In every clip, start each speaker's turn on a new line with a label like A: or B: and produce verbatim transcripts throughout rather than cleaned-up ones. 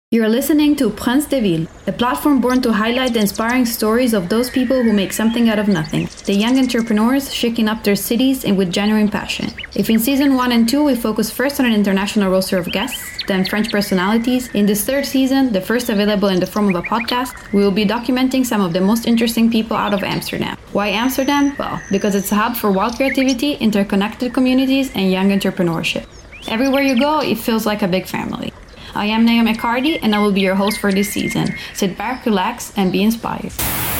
A: You're listening to Prince de Ville, a platform born to highlight the inspiring stories of those people who make something out of nothing, the young entrepreneurs shaking up their cities and with genuine passion. If in season one and two we focus first on an international roster of guests, then French personalities, in this third season, the first available in the form of a podcast, we will be documenting some of the most interesting people out of Amsterdam. Why Amsterdam? Well, because it's a hub for wild creativity, interconnected communities, and young entrepreneurship. Everywhere you go, it feels like a big family. I am Naomi Cardi, and I will be your host for this season. Sit back, relax, and be inspired.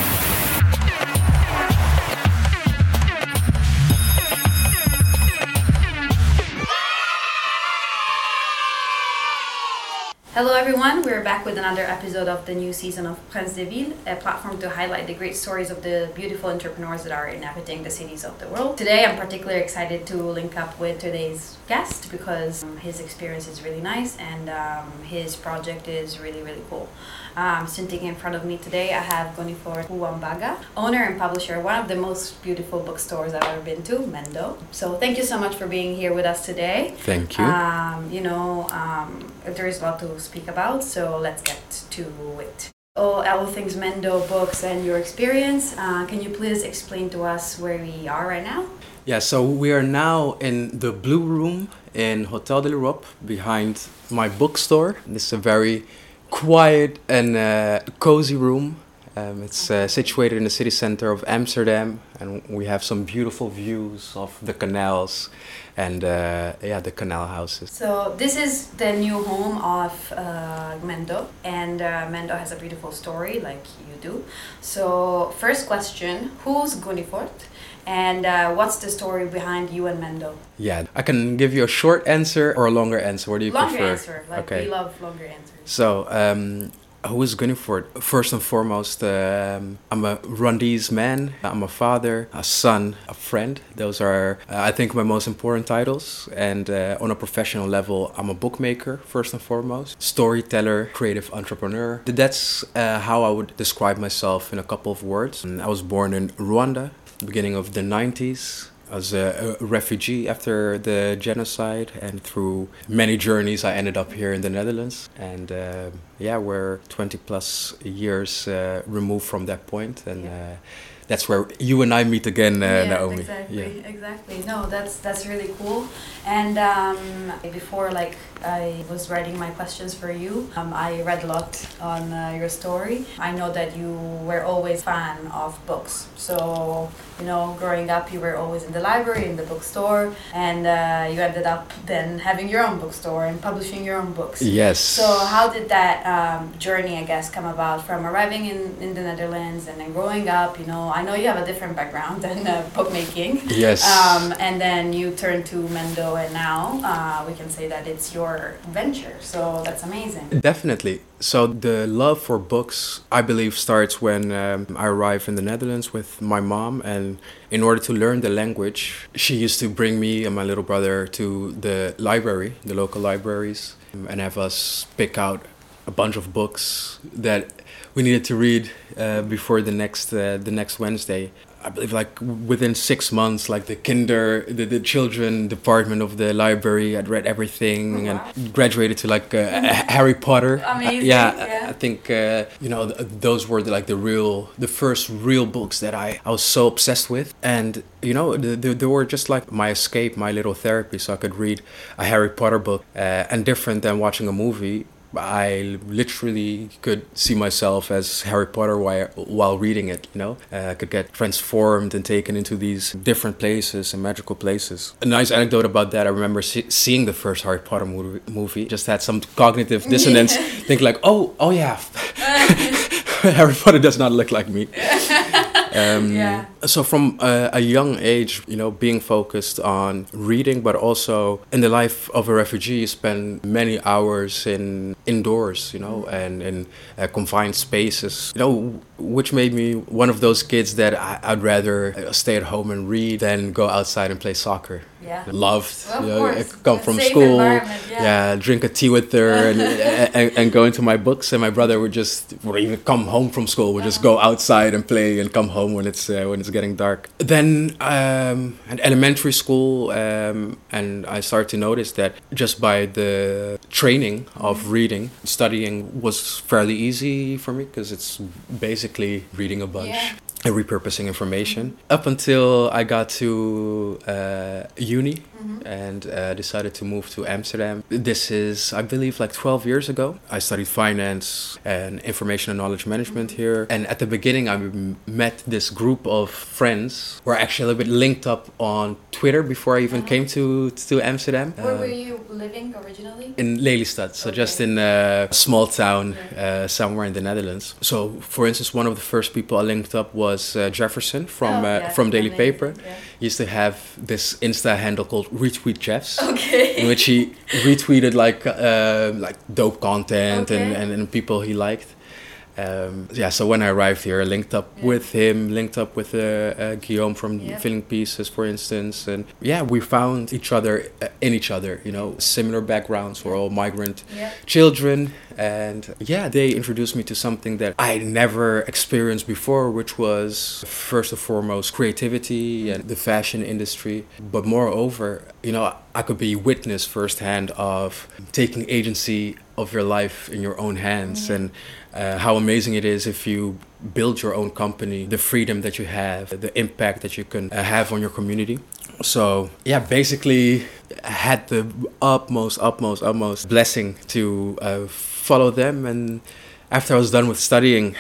A: Hello everyone, we're back with another episode of the new season of Prince de Ville, a platform to highlight the great stories of the beautiful entrepreneurs that are inhabiting the cities of the world. Today I'm particularly excited to link up with today's guest because um, his experience is really nice and um, his project is really, really cool. Um, sitting in front of me today, I have Gonifort Ouambaga, owner and publisher of one of the most beautiful bookstores I've ever been to, Mendo. So thank you so much for being here with us today.
B: Thank you.
A: Um, you know, um, there is a lot to speak about, so let's get to it. All, all things Mendo books and your experience. Uh, can you please explain to us where we are right now?
B: Yeah, so we are now in the Blue Room in Hotel de l'Europe behind my bookstore. This is a very quiet and uh, cozy room. Um, it's uh, situated in the city center of Amsterdam, and we have some beautiful views of the canals and uh, yeah, the canal houses.
A: So this is the new home of uh, Mendo, and uh, Mendo has a beautiful story like you do. So first question, who's Gonifort? And uh, what's the story behind you and Mendo?
B: Yeah, I can give you a short answer or a longer answer. What do you
A: longer
B: prefer?
A: Longer answer. Like
B: okay.
A: We love longer answers.
B: So, um, who is Gonifort? First and foremost, um, I'm a Rwandese man. I'm a father, a son, a friend. Those are, uh, I think, my most important titles. And uh, on a professional level, I'm a bookmaker, first and foremost. Storyteller, creative entrepreneur. That's uh, how I would describe myself in a couple of words. And I was born in Rwanda, beginning of the nineties. I was a, a refugee after the genocide, and through many journeys I ended up here in the Netherlands. And uh, yeah, we're twenty plus years uh, removed from that point, and yeah. uh, that's where you and I meet again, uh,
A: yes,
B: Naomi.
A: Exactly, yeah, exactly. No, that's that's really cool. And um, before, like, I was writing my questions for you, um, I read a lot on uh, your story. I know that you were always a fan of books. So, you know, growing up, you were always in the library, in the bookstore, and uh, you ended up then having your own bookstore and publishing your own books.
B: Yes.
A: So how did that um, journey, I guess, come about from arriving in, in the Netherlands and then growing up? You know, I know you have a different background than uh, bookmaking.
B: Yes.
A: Um, and then you turned to Mendo, and now uh, we can say that it's your venture. So that's amazing.
B: Definitely. So the love for books, I believe, starts when um, I arrived in the Netherlands with my mom. And in order to learn the language, she used to bring me and my little brother to the library, the local libraries, and have us pick out a bunch of books that we needed to read uh, before the next uh, the next Wednesday. I believe like within six months, like the kinder, the, the children department of the library, I'd read everything. Oh, wow. And graduated to like uh, Harry Potter.
A: Amazing.
B: Uh, yeah,
A: yeah,
B: I, I think, uh, you know, th- those were the, like the real, the first real books that I, I was so obsessed with. And, you know, the, the, they were just like my escape, my little therapy. So I could read a Harry Potter book uh, and different than watching a movie. I literally could see myself as Harry Potter while, while reading it, you know. Uh, I could get transformed and taken into these different places and magical places. A nice anecdote about that, I remember see- seeing the first Harry Potter movie, movie. Just had some cognitive dissonance, think like, oh, oh yeah, Harry Potter does not look like me. Um, yeah. So from uh, a young age, you know, being focused on reading, but also in the life of a refugee, you spend many hours in indoors, you know, and in uh, confined spaces, you know, which made me one of those kids that I, I'd rather stay at home and read than go outside and play soccer.
A: Yeah.
B: Loved,
A: well,
B: you know, I come
A: a
B: from
A: safe
B: school,
A: yeah.
B: yeah, drink a tea with her, and, and and go into my books. And my brother would just, or even come home from school, would uh-huh. just go outside and play, and come home when it's uh, when it's it's getting dark. Then um, at elementary school, um, and I started to notice that just by the training of reading, studying was fairly easy for me because it's basically reading a bunch.
A: Yeah.
B: And repurposing information up until I got to uh, uni mm-hmm. and uh, decided to move to Amsterdam. This is, I believe, like twelve years ago. I studied finance and information and knowledge management mm-hmm. here. And at the beginning, I m- met this group of friends. We're actually a little bit linked up on Twitter before I even uh-huh. came to to Amsterdam.
A: Where uh, were you living originally?
B: In Lelystad, so okay. just in a small town uh, somewhere in the Netherlands. So, for instance, one of the first people I linked up was was uh, Jefferson from
A: oh,
B: uh,
A: yeah,
B: from Daily
A: amazing,
B: Paper.
A: Yeah.
B: He used to have this Insta handle called Retweet Jeffs,
A: okay.
B: in which he retweeted like uh, like dope content
A: okay.
B: and, and, and people he liked. Um, yeah, so when I arrived here, I linked up
A: yeah.
B: with him, linked up with uh, uh, Guillaume from
A: yeah.
B: Filling Pieces, for instance. And yeah, we found each other uh, in each other, you know, similar backgrounds. We're all migrant
A: yeah.
B: children. And yeah, they introduced me to something that I never experienced before, which was first and foremost creativity and the fashion industry. But moreover, you know, I could be witness firsthand of taking agency of your life in your own hands mm-hmm. and uh, how amazing it is if you build your own company, the freedom that you have, the impact that you can uh, have on your community. So yeah, basically I had the utmost, utmost, utmost blessing to uh, follow them. And after I was done with studying,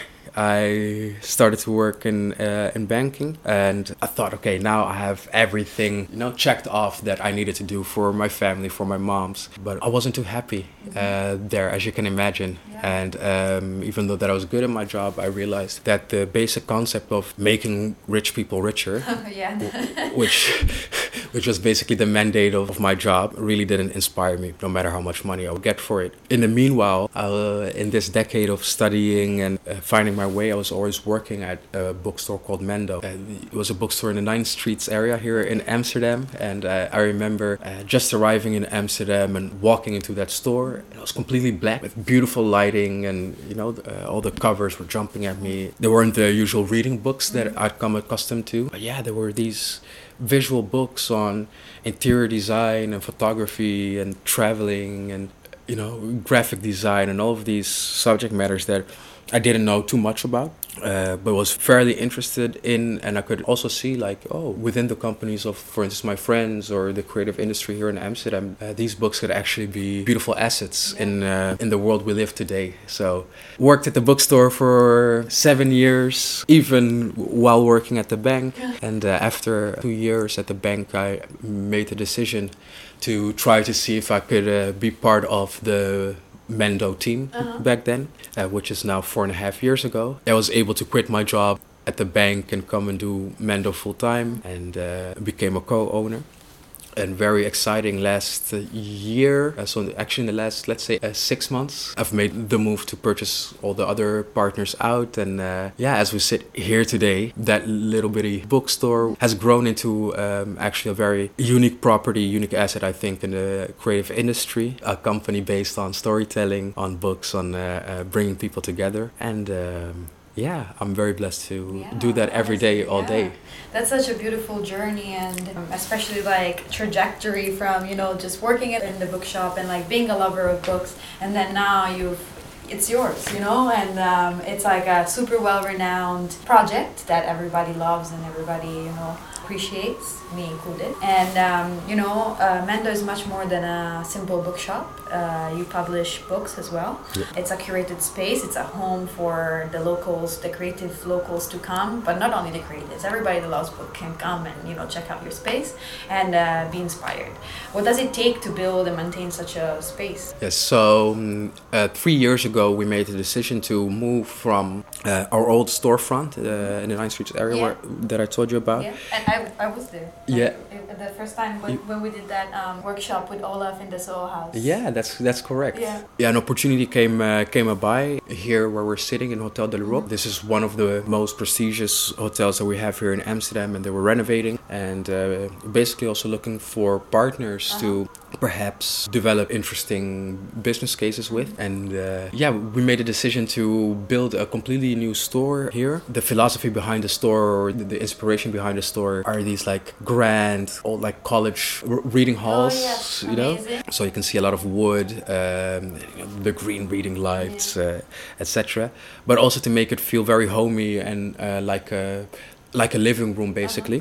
B: I started to work in uh, in banking, and I thought, okay, now I have everything, you know, checked off that I needed to do for my family, for my moms. But I wasn't too happy uh, there, as you can imagine. Yeah. And um, even though that I was good at my job, I realized that the basic concept of making rich people richer,
A: yeah.
B: which which was basically the mandate of, of my job, really didn't inspire me, no matter how much money I would get for it. In the meanwhile, uh, in this decade of studying and uh, finding my way, I was always working at a bookstore called Mendo. Uh, it was a bookstore in the Ninth Streets area here in Amsterdam, and uh, I remember uh, just arriving in Amsterdam and walking into that store. It was completely black with beautiful lighting, and you know, uh, all the covers were jumping at me. They weren't the usual reading books that I'd come accustomed to, but yeah, there were these visual books on interior design and photography and traveling and, you know, graphic design and all of these subject matters that I didn't know too much about, uh, but was fairly interested in. And I could also see, like, oh, within the companies of, for instance, my friends or the creative industry here in Amsterdam, uh, these books could actually be beautiful assets yeah. in uh, in the world we live today. So worked at the bookstore for seven years, even while working at the bank. Yeah. And uh, after two years at the bank, I made the decision to try to see if I could uh, be part of the Mendo team uh-huh. back then, uh, which is now four and a half years ago. I was able to quit my job at the bank and come and do Mendo full time, and uh, became a co-owner. And very exciting last year, uh, so actually in the last, let's say, uh, six months, I've made the move to purchase all the other partners out. And uh, yeah, as we sit here today, that little bitty bookstore has grown into um, actually a very unique property, unique asset, I think, in the creative industry. A company based on storytelling, on books, on uh, uh, bringing people together. And um, yeah, I'm very blessed to yeah, do that every day, all
A: yeah.
B: day.
A: That's such a beautiful journey, and um, especially like trajectory from, you know, just working in the bookshop and like being a lover of books, and then now you've it's yours, you know, and um, it's like a super well-renowned project that everybody loves and everybody, you know, appreciates, me included. And um, you know, uh, Mendo is much more than a simple bookshop. Uh, you publish books as well. Yeah. It's a curated space. It's a home for the locals, the creative locals to come, but not only the creatives. Everybody that loves book can come and, you know, check out your space and uh, be inspired. What does it take to build and maintain such a space?
B: Yes, so um, uh, three years ago we made the decision to move from uh, our old storefront uh, in the Ninth Street area yeah. where, that I told you about.
A: Yeah, and I, I was there.
B: Yeah.
A: Like, the first time when, when we did that um, workshop with Olaf in the Soho House.
B: Yeah, that's that's correct.
A: Yeah,
B: yeah an opportunity came uh, came by here where we're sitting in Hotel de l'Europe. Mm-hmm. This is one of the most prestigious hotels that we have here in Amsterdam, and they were renovating and uh, basically also looking for partners uh-huh. to perhaps develop interesting business cases with. And uh, yeah, we made a decision to build a completely new store here. The philosophy behind the store, or the, the inspiration behind the store, are these like grand old like college r- reading halls,
A: Oh, yes.
B: you know.
A: Amazing.
B: So you can see a lot of wood, um, you know, the green reading lights,
A: Yeah.
B: uh, et cetera. But also to make it feel very homey and uh, like a like a living room, basically.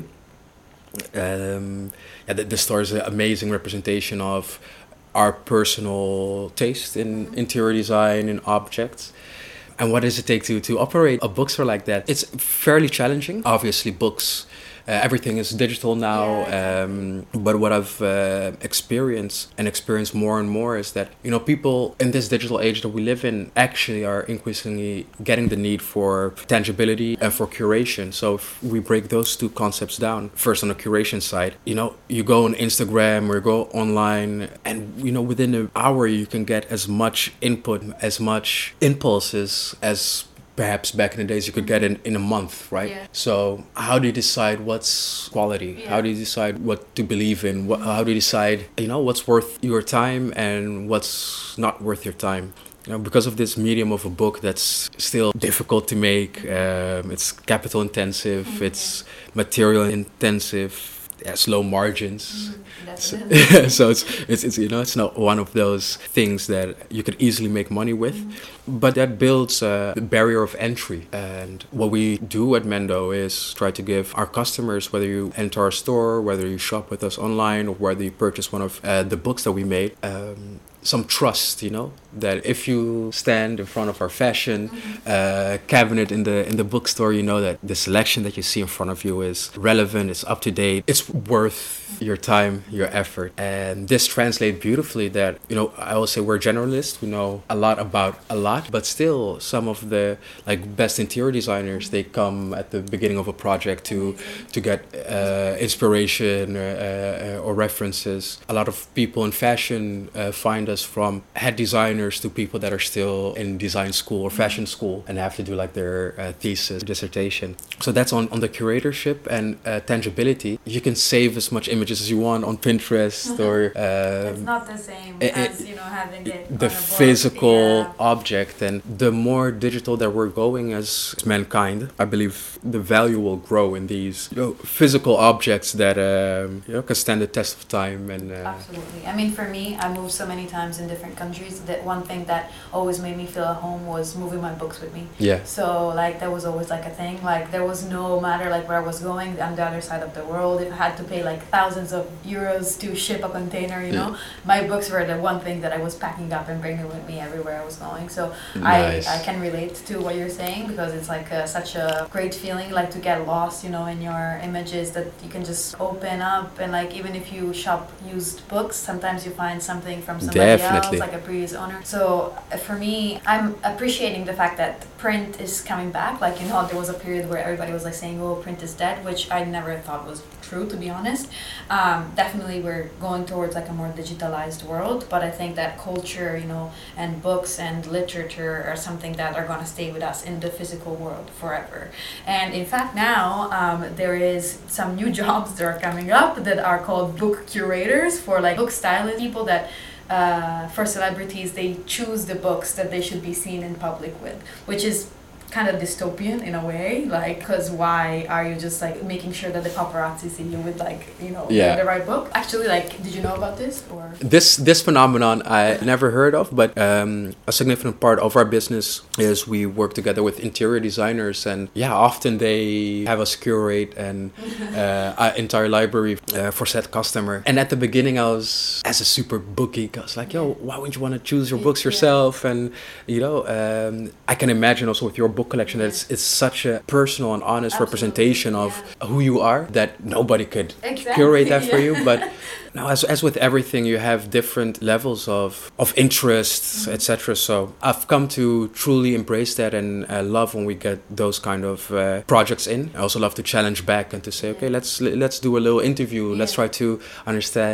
B: Um, yeah, the, the store is an amazing representation of our personal taste in interior design and objects. And what does it take to, to operate a bookstore like that? It's fairly challenging. Obviously, books, uh, everything is digital now.
A: Yeah,
B: um, but what I've uh, experienced and experienced more and more is that, you know, people in this digital age that we live in actually are increasingly getting the need for tangibility and for curation. So if we break those two concepts down, first on the curation side, you know, you go on Instagram or go online, and, you know, within an hour you can get as much input, as much impulses as perhaps back in the days you could get in, in a month, right?
A: Yeah.
B: So how do you decide what's quality?
A: Yeah.
B: How do you decide what to believe in? What, how do you decide, you know, what's worth your time and what's not worth your time? You know, because of this medium of a book that's still difficult to make, um, it's capital intensive,
A: Mm-hmm.
B: it's material intensive, it has low margins. So,
A: Definitely.
B: so it's, it's it's you know it's not one of those things that you could easily make money with, but that builds a barrier of entry. And what we do at Mendo is try to give our customers, whether you enter our store, whether you shop with us online, or whether you purchase one of uh, the books that we made, um, some trust. You know that if you stand in front of our fashion uh, cabinet in the in the bookstore, you know that the selection that you see in front of you is relevant, it's up to date, it's worth your time, your effort. And this translates beautifully that, you know, I will say we're generalists, we know a lot about a lot, but still some of the like best interior designers, they come at the beginning of a project to to get uh, inspiration uh, uh, or references. A lot of people in fashion uh, find us from head designers to people that are still in design school or fashion school and have to do like their uh, thesis, dissertation. So that's on, on the curatorship and uh, tangibility. You can save as much images as you want on Pinterest or um,
A: It's not the same
B: it-
A: as,
B: it-
A: you know, having it
B: the
A: on a book.
B: physical
A: Yeah.
B: object. And the more digital that we're going as mankind, I believe the value will grow in these, you know, physical objects that um, you know can stand the test of time. And uh,
A: Absolutely. I mean, for me, I moved so many times in different countries that one thing that always made me feel at home was moving my books with me.
B: yeah,
A: So, like, that was always, like, a thing. Like, there was no matter, like, where I was going on the other side of the world. If I had to pay, like, thousands of euros to ship a container, you know, my books were the one thing that I was packing up and bringing with me everywhere I was going. So,
B: Nice.
A: I, I can relate to what you're saying because it's, like, uh, such a great feeling, like, to get lost, you know, in your images that you can just open up. And, like, even if you shop used books, sometimes you find something from somebody
B: Definitely.
A: else, like a previous owner. So uh, for me, I'm appreciating the fact that print is coming back. Like, you know, there was a period where everybody was like saying, oh, print is dead, which I never thought was true, to be honest. Um, definitely we're going towards like a more digitalized world, but I think that culture, you know, and books and literature are something that are going to stay with us in the physical world forever. And in fact, now um, there is some new jobs that are coming up that are called book curators, for like book stylists, people that uh, for celebrities, they choose the books that they should be seen in public with, which is kind of dystopian in a way, like, because why are you just like making sure that the paparazzi see you with like, you know,
B: Yeah.
A: the right book? Actually, like, did you know about this or?
B: This this phenomenon I never heard of, but um, a significant part of our business is we work together with interior designers, and yeah, often they have us curate an uh, uh, entire library uh, for said customer. And at the beginning, I was, as a super book geek, I was like, yo, why wouldn't you want to choose your books
A: Yeah.
B: yourself? And you know, um, I can imagine also with your book collection that it's, it's such a personal and honest
A: Absolutely,
B: representation of who you are that nobody could
A: Exactly,
B: curate that for
A: yeah.
B: you. But now, as as with everything, you have different levels of of interests,
A: Mm-hmm.
B: et cetera. So I've come to truly embrace that and uh, love when we get those kind of uh, projects in. I also love to challenge back and to say, okay, let's let's do a little interview. Let's
A: Yeah.
B: try to understand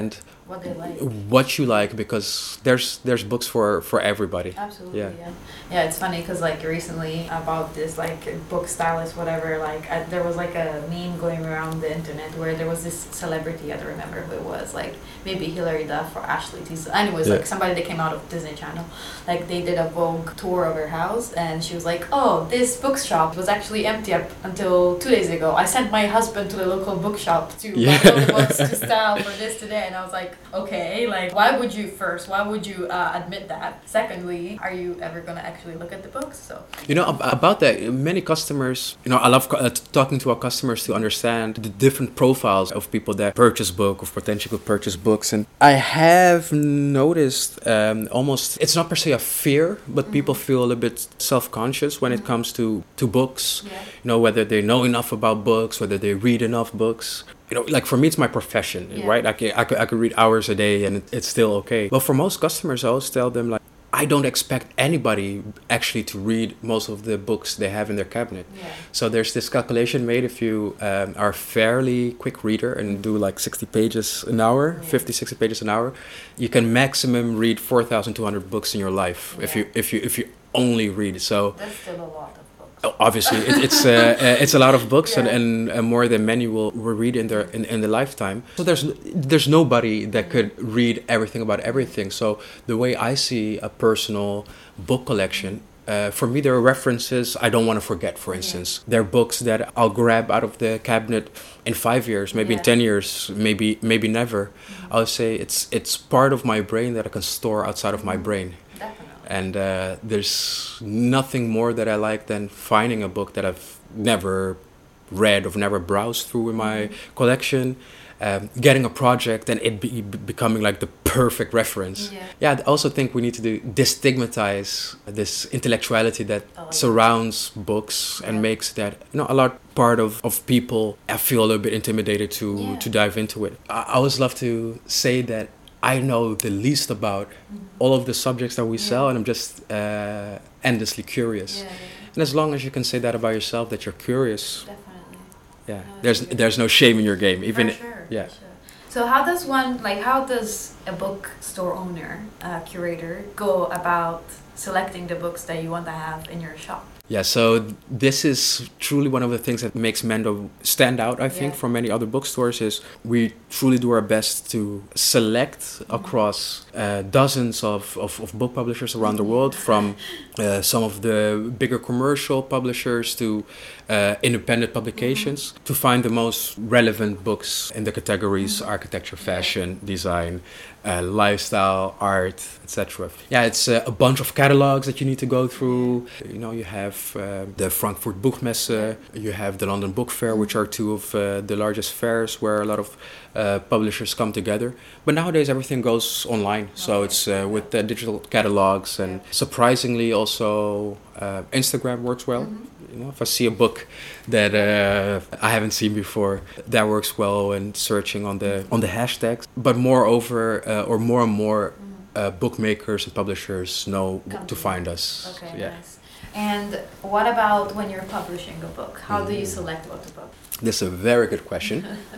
A: what they like,
B: what you like, because there's there's books for for everybody.
A: Absolutely. Yeah, yeah, yeah it's funny because like recently about this like book stylist whatever, like I, there was like a meme going around the internet where there was this celebrity, I don't remember who it was, like maybe Hilary Duff or Ashley Tisdale, anyways, yeah. Like somebody that came out of Disney Channel, like they did a Vogue tour of her house and she was like, oh, this bookshop was actually empty up until two days ago. I sent my husband to the local bookshop to yeah. buy all the books to style for this today. And I was like, okay, like why would you first why would you uh, admit that? Secondly, are you ever going to actually look at the books? So
B: you know, about that, many customers, you know, I love uh, talking to our customers to understand the different profiles of people that purchase book or potentially could purchase books. And I have noticed um, almost, it's not per se a fear, but mm-hmm. people feel a little bit self-conscious when mm-hmm. it comes to, to books, yeah. you know, whether they know enough about books, whether they read enough books. You know, like for me, it's my profession, yeah. right? I could, I, could, I could read hours a day and it, it's still okay. But for most customers, I always tell them, like, I don't expect anybody actually to read most of the books they have in their cabinet. Yeah. So there's this calculation made if you um, are a fairly quick reader and do like sixty pages an hour, yeah. fifty, sixty pages an hour, you can maximum read four thousand two hundred books in your life yeah. if you if you if you only read. So
A: that's still a lot.
B: Obviously, it, it's uh, it's a lot of books, yeah. and, and, and more than many will, will read in their in, in their lifetime. So there's there's nobody that could read everything about everything. So the way I see a personal book collection, uh, for me, there are references I don't want to forget. For instance, yeah. there are books that I'll grab out of the cabinet in five years, maybe yeah. in ten years, maybe maybe never. Mm-hmm. I'll say it's it's part of my brain that I can store outside of my brain. And uh, there's nothing more that I like than finding a book that I've never read or never browsed through in my mm-hmm. collection, um, getting a project and it be, becoming like the perfect reference. Yeah. yeah, I also think we need to do destigmatize this intellectuality that oh, surrounds yeah. books yeah. and makes that, you know, a lot part of, of people I feel a little bit intimidated to, yeah. to dive into it. I, I always love to say that I know the least about mm-hmm. all of the subjects that we yeah. sell, and I'm just uh, endlessly curious. Yeah, yeah. And as long as you can say that about yourself, that you're curious,
A: definitely.
B: Yeah, no, there's there's no shame in your game, even.
A: For sure,
B: yeah.
A: For sure. So how does one like how does a bookstore owner, uh, curator, go about selecting the books that you want to have in your shop?
B: Yeah, so this is truly one of the things that makes Mendo stand out, I think, yeah. from many other bookstores, is we truly do our best to select mm-hmm. across uh, dozens of, of, of book publishers around the world, from uh, some of the bigger commercial publishers to uh, independent publications, mm-hmm. to find the most relevant books in the categories mm-hmm. architecture, fashion, design, Uh, lifestyle, art, et cetera. Yeah, it's uh, a bunch of catalogs that you need to go through. You know, you have uh, the Frankfurt Buchmesse, you have the London Book Fair, which are two of uh, the largest fairs where a lot of uh, publishers come together. But nowadays everything goes online, so it's uh, with the digital catalogs, and surprisingly also uh, Instagram works well. Mm-hmm. You know, if I see a book that uh, I haven't seen before, that works well in searching on the on the hashtags. But moreover, uh, or more and more uh, bookmakers and publishers know Come to find us.
A: Okay,
B: so, yeah.
A: Nice. And what about when you're publishing a book? How mm. do you select what to book?
B: This is a very good question.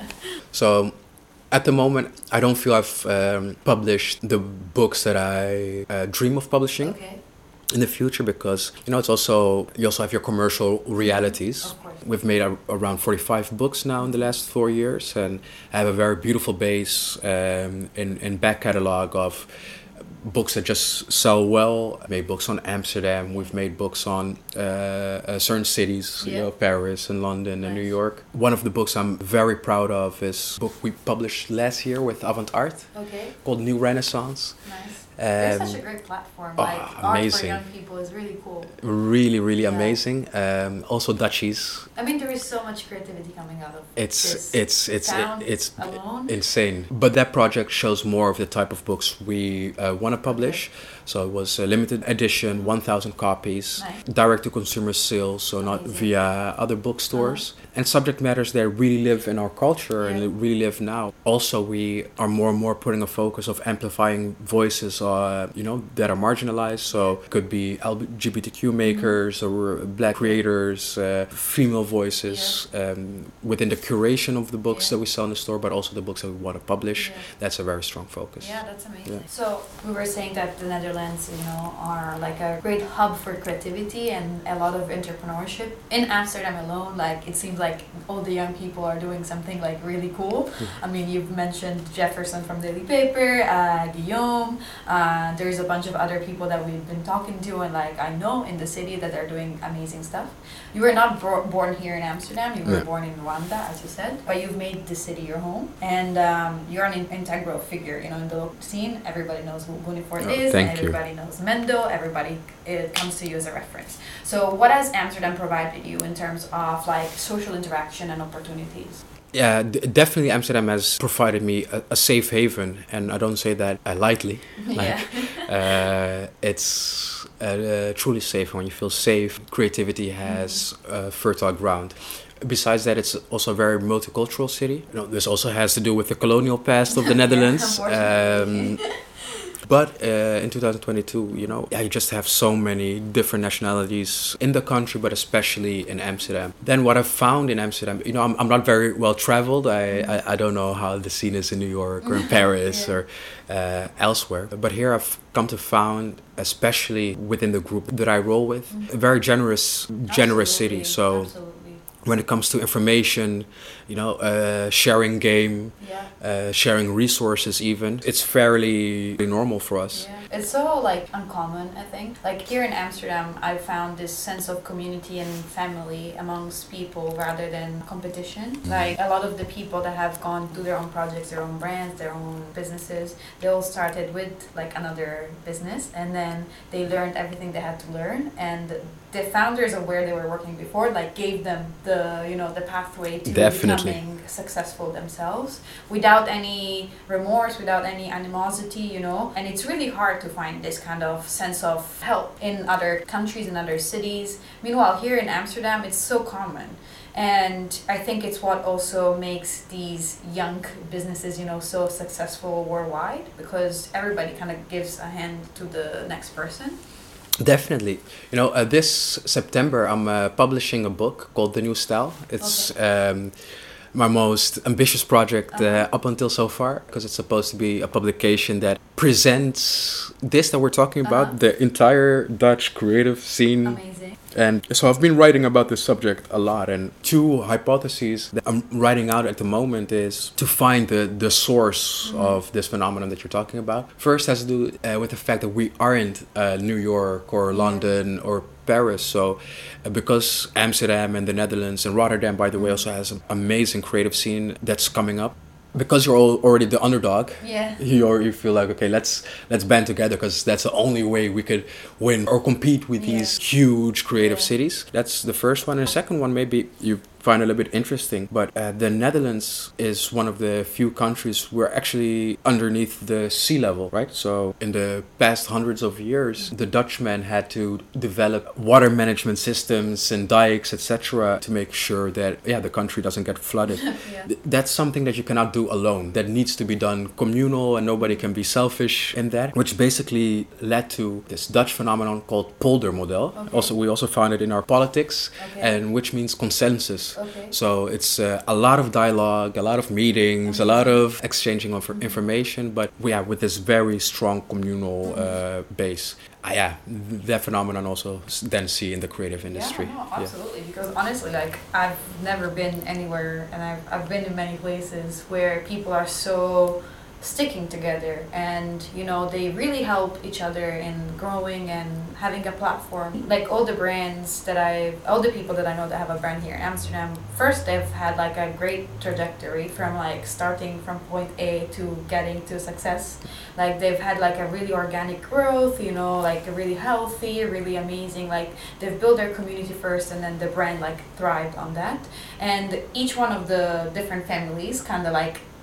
B: So, at the moment, I don't feel I've um, published the books that I uh, dream of publishing. Okay. In the future, because you know, it's also you also have your commercial realities. We've made a, around forty-five books now in the last four years, and I have a very beautiful base um, in in back catalog of books that just sell well. I made books on Amsterdam. We've made books on uh, uh, certain cities, yeah. you know, Paris and London nice. and New York. One of the books I'm very proud of is a book we published last year with Avant Art,
A: okay.
B: called New Renaissance.
A: Nice. Um, They're such a great platform. Oh, like art for young people is really cool.
B: Really, really
A: yeah.
B: amazing. Um, also Dutchies.
A: I mean, there is so much creativity coming out of
B: it's
A: this
B: it's it's
A: sound
B: it, it's
A: alone.
B: insane. But that project shows more of the type of books we uh, want to publish. Okay. So it was a limited edition, one thousand copies,
A: Nice.
B: direct to consumer sales, so not
A: Amazing.
B: via other bookstores. And subject matters that really live in our culture and
A: Yeah.
B: really live now. Also, we are more and more putting a focus of amplifying voices, uh, you know, that are marginalized. So it could be L G B T Q makers or black creators, uh, female voices um, within the curation of the books
A: Yeah.
B: that we sell in the store, but also the books that we want to publish.
A: Yeah.
B: That's a very strong focus.
A: Yeah, that's amazing.
B: Yeah.
A: So we were saying that the Netherlands, you know, are like a great hub for creativity and a lot of entrepreneurship. In Amsterdam alone, like it seems like all the young people are doing something like really cool. I mean, you've mentioned Jefferson from Daily Paper, uh, Guillaume. Uh, there's a bunch of other people that we've been talking to, and like I know in the city that they're doing amazing stuff. You were not bro- born here in Amsterdam. You were
B: Yeah.
A: born in Rwanda, as you said, but you've made the city your home, and um, you're an in- integral figure, you know, in the local scene. Everybody knows who Bunifort
B: Oh,
A: is,
B: thank
A: and
B: you.
A: everybody knows Mendo. Everybody it comes to you as a reference. So, what has Amsterdam provided you in terms of like social interaction and opportunities?
B: Yeah, d- definitely Amsterdam has provided me a, a safe haven, and I don't say that uh, lightly. Like, uh, it's uh, uh, truly safe when you feel safe. Creativity has uh, fertile ground. Besides that, it's also a very multicultural city. You know, this also has to do with the colonial past of the Netherlands.
A: unfortunately.
B: Um, But uh, in two thousand twenty-two, you know, yeah, you just have so many different nationalities in the country, but especially in Amsterdam. Then what I've found in Amsterdam, you know, I'm, I'm not very well traveled. I, I, I don't know how the scene is in New York or in Paris
A: Yeah.
B: or uh, elsewhere. But here I've come to found, especially within the group that I roll with, a very generous, generous city.
A: Absolutely,
B: So
A: absolutely.
B: when it comes to information, you know, uh, sharing game,
A: Yeah.
B: uh, sharing resources even, it's fairly normal for us.
A: Yeah. It's so like uncommon, I think. Like here in Amsterdam, I found this sense of community and family amongst people rather than competition. Like a lot of the people that have gone through their own projects, their own brands, their own businesses, they all started with like another business, and then they learned everything they had to learn, and the founders of where they were working before like gave them the, you know, the pathway to
B: Definitely.
A: becoming successful themselves without any remorse, without any animosity, you know. And it's really hard to find this kind of sense of help in other countries, in other cities. Meanwhile, here in Amsterdam, it's so common. And I think it's what also makes these young businesses, you know, so successful worldwide, because everybody kind of gives a hand to the next person.
B: Definitely. You know, uh, this September I'm uh, publishing a book called The New Style. It's um, my most ambitious project uh,
A: Uh-huh.
B: up until so far, because it's supposed to be a publication that presents this that we're talking about,
A: Uh-huh.
B: the entire Dutch creative scene.
A: Amazing.
B: And so I've been writing about this subject a lot, and two hypotheses that I'm writing out at the moment is to find the, the source
A: Mhm.
B: of this phenomenon that you're talking about. First has to do uh, with the fact that we aren't uh, New York or London or Paris. So uh, because Amsterdam and the Netherlands and Rotterdam, by the way, also has an amazing creative scene that's coming up. Because you're all already the underdog,
A: Yeah.
B: you or you feel like, okay, let's let's band together, because that's the only way we could win or compete with
A: Yeah.
B: these huge creative
A: Yeah.
B: cities. That's the first one. And the second one, maybe you find a little bit interesting, but uh, the Netherlands is one of the few countries where actually underneath the sea level, right? So in the past hundreds of years, the Dutchmen had to develop water management systems and dikes, et cetera, to make sure that yeah the country doesn't get flooded.
A: Yeah.
B: Th- That's something that you cannot do alone. That needs to be done communal, and nobody can be selfish in that, which basically led to this Dutch phenomenon called polder model.
A: Okay.
B: Also, we also found it in our politics,
A: Okay.
B: and which means consensus.
A: Okay.
B: So it's uh, a lot of dialogue, a lot of meetings, a lot of exchanging of information, but yeah, with this very strong communal uh, base. Uh, yeah, that phenomenon also s- then see in the creative industry.
A: Yeah, no, absolutely. Because honestly, like I've never been anywhere, and I've I've been in many places where people are so sticking together, and you know they really help each other in growing and having a platform. Like all the brands that I, all the people that I know that have a brand here in Amsterdam, first they've had like a great trajectory from like starting from point A to getting to success. Like they've had like a really organic growth, you know, like a really healthy, really amazing. Like they've built their community first, and then the brand like thrived on that. And each one of the different families kind of like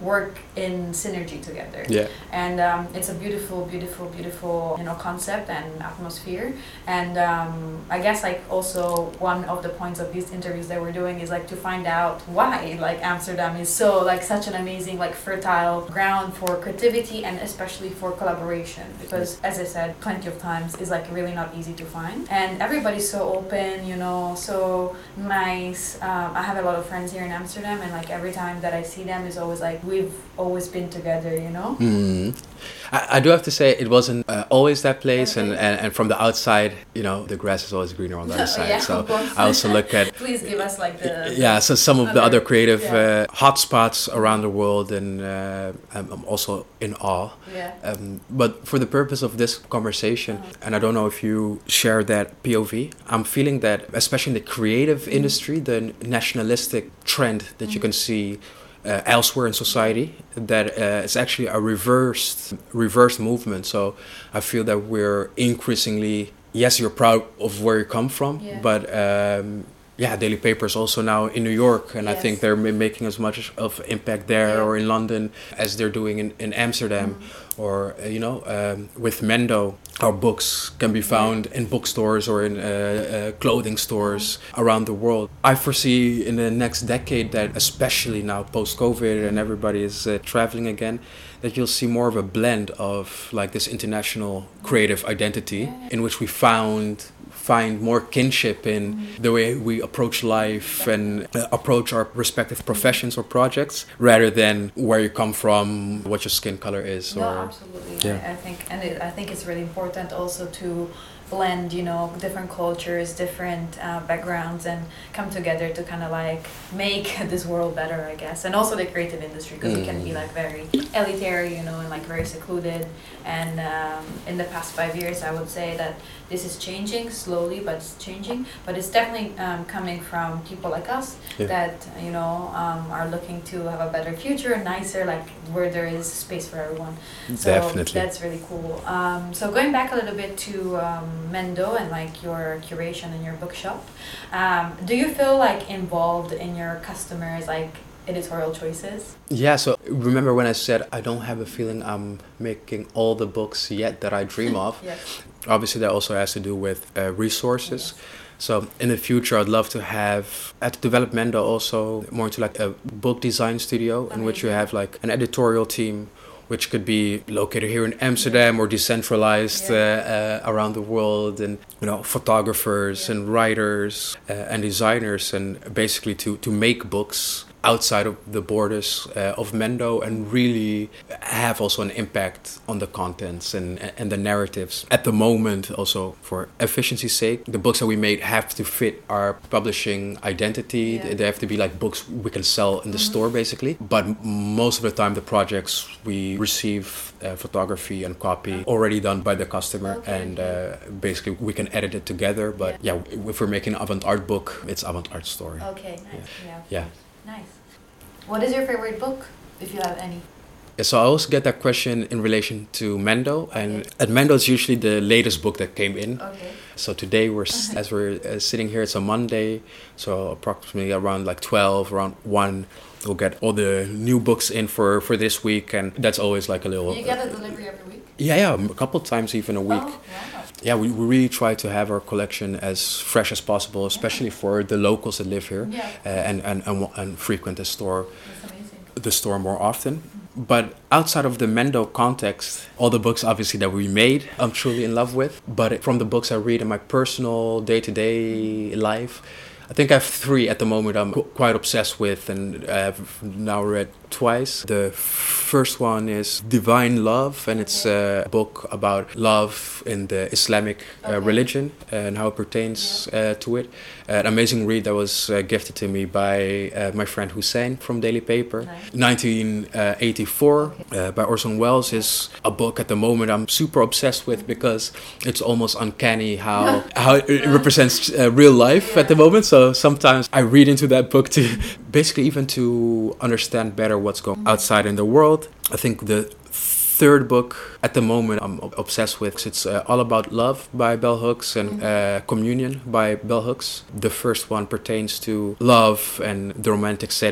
A: work in synergy together.
B: Yeah.
A: And um, it's a beautiful, beautiful, beautiful, you know, concept and atmosphere. And um, I guess like also one of the points of these interviews that we're doing is like to find out why like Amsterdam is so like such an amazing like fertile ground for creativity and especially for collaboration, because as I said plenty of times it's like really not easy to find, and everybody's so open, you know, so nice. um, I have a lot of friends here in Amsterdam, and like every time that I see them is always like we've always been together, you know.
B: Mm. I, I do have to say it wasn't uh, always that place,
A: Okay.
B: and, and, and from the outside, you know, the grass is always greener on the other side.
A: Yeah,
B: So
A: of course.
B: I also look at
A: Please give us like the
B: yeah, so some of the
A: other-
B: other creative
A: yeah.
B: uh, hotspots around the world, and uh, I'm I'm also in awe.
A: yeah.
B: Um, but for the purpose of this conversation,
A: Uh-huh.
B: and I don't know if you share that P O V, I'm feeling that, especially in the creative
A: Mm-hmm.
B: industry, the nationalistic trend that you can see uh, elsewhere in society, that uh, it's actually a reversed reversed movement. So I feel that we're increasingly, yes, you're proud of where you come from,
A: Yeah.
B: but um, yeah, Daily Paper is also now in New York, and I think
A: Yes.
B: they're ma- making as much of impact there
A: Yeah.
B: or in London as they're doing in, in Amsterdam.
A: Mm.
B: Or, uh, you know, um, with Mendo, our books can be found in bookstores or in uh, uh, clothing stores around the world. I foresee in the next decade that, especially now post-COVID and everybody is uh, traveling again, that you'll see more of a blend of like this international creative identity in which we found find more kinship in the way we approach life and uh, approach our respective professions or projects, rather than where you come from, what your skin color is.
A: No,
B: Or
A: absolutely.
B: Yeah.
A: I, I think, and it, I think it's really important also to blend, you know, different cultures, different uh, backgrounds, and come together to kind of like make this world better, I guess. And also the creative industry, because it can be like very elitary, you know, and like very secluded. And um, in the past five years, I would say that this is changing slowly, but it's changing. But it's definitely um, coming from people like us
B: Yeah.
A: that, you know, um, are looking to have a better future, nicer, like where there is space for everyone. So
B: Definitely.
A: that's really cool. Um, so going back a little bit to um, Mendo and like your curation in your bookshop, um, do you feel like involved in your customers' like editorial choices?
B: Yeah, so remember when I said I don't have a feeling I'm making all the books yet that I dream of?
A: Yes.
B: Obviously, that also has to do with uh, resources. So in the future, I'd love to have, at Developmento also, more into like a book design studio in which you
A: Amazing.
B: have like an editorial team, which could be located here in Amsterdam or decentralized
A: Yeah.
B: uh, uh, around the world, and you know, photographers
A: Yeah.
B: and writers uh, and designers, and basically to to make books outside of the borders uh, of Mendo, and really have also an impact on the contents and and the narratives. At the moment, also for efficiency's sake, the books that we made have to fit our publishing identity.
A: Yeah.
B: They have to be like books we can sell in the store, basically. But m- most of the time, the projects we receive uh, photography and copy already done by the customer,
A: Okay.
B: and uh, basically we can edit it together. But yeah, if we're making an avant-art book, it's avant-art story.
A: Okay, nice. Yeah.
B: Yeah.
A: Nice. What is your favorite book, if you have any?
B: Yeah, so I also get that question in relation to Mendo, and
A: Okay.
B: at Mendo it's usually the latest book that came in.
A: Okay.
B: So today we're s- as we're uh, sitting here, it's a Monday, so approximately around like twelve, around one, we'll get all the new books in for for this week, and that's always like a little.
A: You get a delivery every week?
B: Yeah, yeah, a couple of times even a week.
A: Oh, wow.
B: Yeah, we, we really try to have our collection as fresh as possible, especially for the locals that live here,
A: Yeah.
B: uh, and, and, and wa- and frequent the store
A: That's amazing.
B: the store more often. But outside of the Mendo context, all the books obviously that we made, I'm truly in love with. But from the books I read in my personal day-to-day life, I think I have three at the moment I'm qu- quite obsessed with, and I've now read twice. The first one is Divine Love, and it's a book about love in the Islamic uh,
A: Okay.
B: religion and how it pertains uh, to it. An amazing read that was uh, gifted to me by uh, my friend Hussein from Daily Paper.
A: Nice.
B: nineteen eighty-four
A: Okay.
B: uh, by Orson Welles is a book at the moment I'm super obsessed with, because it's almost uncanny how how it represents uh, real life at the moment. So sometimes I read into that book to basically even to understand better what's going outside in the world. I think the third book at the moment I'm ob- obsessed with, it's uh, All About Love by Bell Hooks, and uh, Communion by Bell Hooks. The first one pertains to love and the romantic setting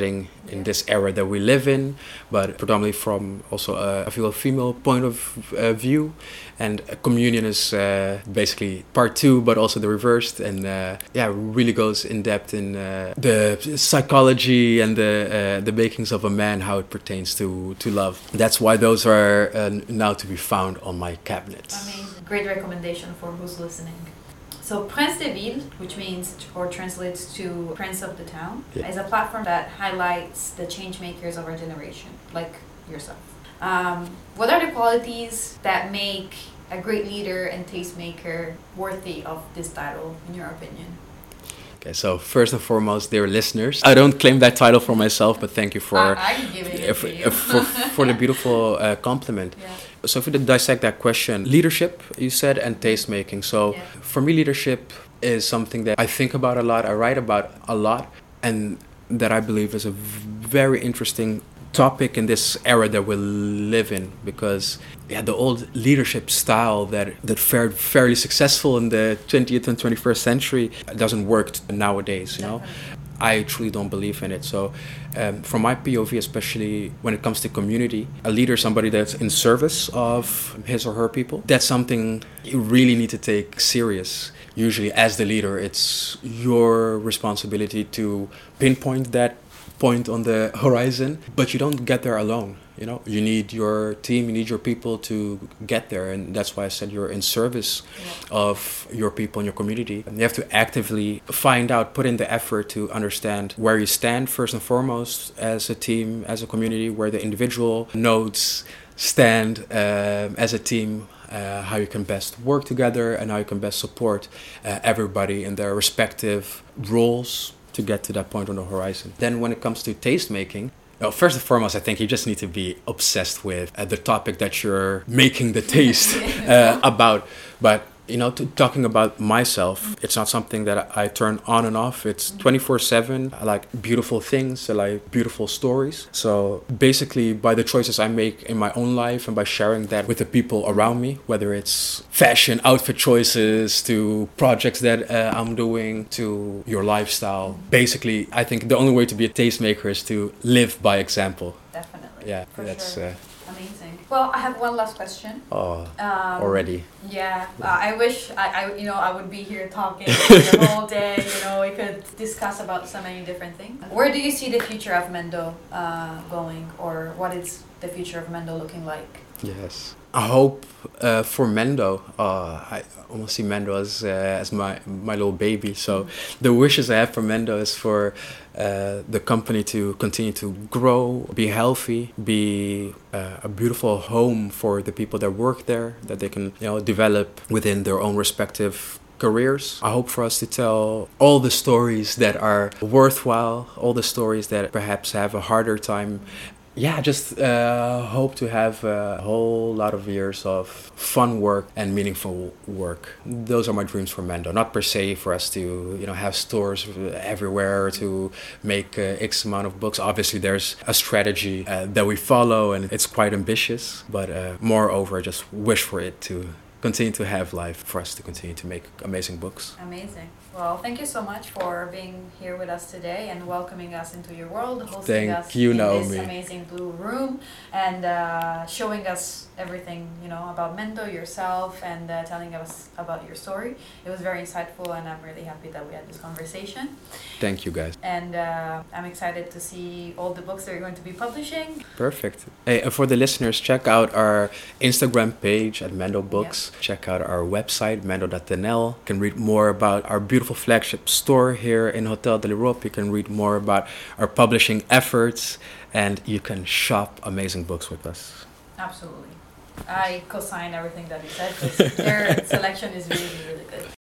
B: in yeah. this era that we live in, but predominantly from also a, I feel a female point of uh, view. And Communion is uh, basically part two, but also the reversed, and uh, yeah, really goes in depth in uh, the psychology and the uh, the makings of a man, how it pertains to to love. That's why those are uh, now to be found on my cabinet.
A: Amazing, great recommendation for who's listening. So Prince des Villes, which means or translates to Prince of the Town, yeah. is a platform that highlights the change makers of our generation, like yourself. Um, what are the qualities that make a great leader and tastemaker worthy of this title, in your opinion?
B: Okay, so first and foremost, dear listeners, I don't claim that title for myself, but thank you for
A: uh, I can give it
B: uh,
A: for,
B: for, for, for the beautiful uh, compliment. Yeah. So if we dissect that question, leadership, you said, and tastemaking. So yeah. for me, leadership is something that I think about a lot, I write about a lot, and that I believe is a very interesting topic in this era that we live in, because yeah, the old leadership style that that fared fairly successful in the twentieth and twenty-first century doesn't work nowadays, you know. Definitely. I truly don't believe in it. So um, from my P O V, especially when it comes to community, a leader is somebody that's in service of his or her people. That's something you really need to take serious. Usually as the leader, it's your responsibility to pinpoint that point on the horizon, but you don't get there alone. You know, you need your team, you need your people to get there, and that's why I said you're in service yeah. of your people and your community. And you have to actively find out, put in the effort to understand where you stand first and foremost as a team, as a community, where the individual nodes stand um, as a team, uh, how you can best work together, and how you can best support uh, everybody in their respective roles to get to that point on the horizon. Then when it comes to taste making, well, first and foremost, I think you just need to be obsessed with uh, the topic that you're making the taste uh, about. But, you know, to, talking about myself, it's not something that I, I turn on and off. It's twenty-four seven. I like beautiful things. I like beautiful stories. So basically, by the choices I make in my own life and by sharing that with the people around me, whether it's fashion, outfit choices, to projects that uh, I'm doing, to your lifestyle. Basically, I think the only way to be a tastemaker is to live by example.
A: Definitely.
B: Yeah,
A: for
B: that's...
A: Sure.
B: Uh,
A: Amazing. Well, I have one last question.
B: Oh,
A: um,
B: already.
A: Yeah, uh, I wish I, I, you know, I would be here talking the whole day. You know, we could discuss about so many different things. Where do you see the future of Mendo uh, going, or what is the future of Mendo looking like?
B: Yes, I hope uh, for Mendo. Uh, I almost see Mendo as uh, as my my little baby. So the wishes I have for Mendo is for uh, the company to continue to grow, be healthy, be uh, a beautiful home for the people that work there, that they can, you know, develop within their own respective careers. I hope for us to tell all the stories that are worthwhile, all the stories that perhaps have a harder time. Yeah, just uh, hope to have a whole lot of years of fun work and meaningful work. Those are my dreams for Mendo. Not per se for us to, you know, have stores everywhere, to make uh, X amount of books. Obviously, there's a strategy uh, that we follow, and it's quite ambitious. But uh, moreover, I just wish for it to continue to have life, for us to continue to make amazing books.
A: Amazing. Well, thank you so much for being here with us today and welcoming us into your world, hosting
B: thank
A: us
B: you,
A: in
B: Naomi.
A: this amazing blue room, and uh, showing us everything, you know, about Mendo, yourself, and uh, telling us about your story. It was very insightful, and I'm really happy that we had this conversation.
B: Thank you, guys.
A: And uh, I'm excited to see all the books that you're going to be publishing.
B: Perfect. Hey, for the listeners, check out our Instagram page at Mendo Books. Yep. Check out our website, mendo dot n l. You can read more about our beautiful flagship store here in Hotel de l'Europe. You can read more about our publishing efforts, and you can shop amazing books with us.
A: Absolutely. I co-sign everything that you said, because their selection is really, really good.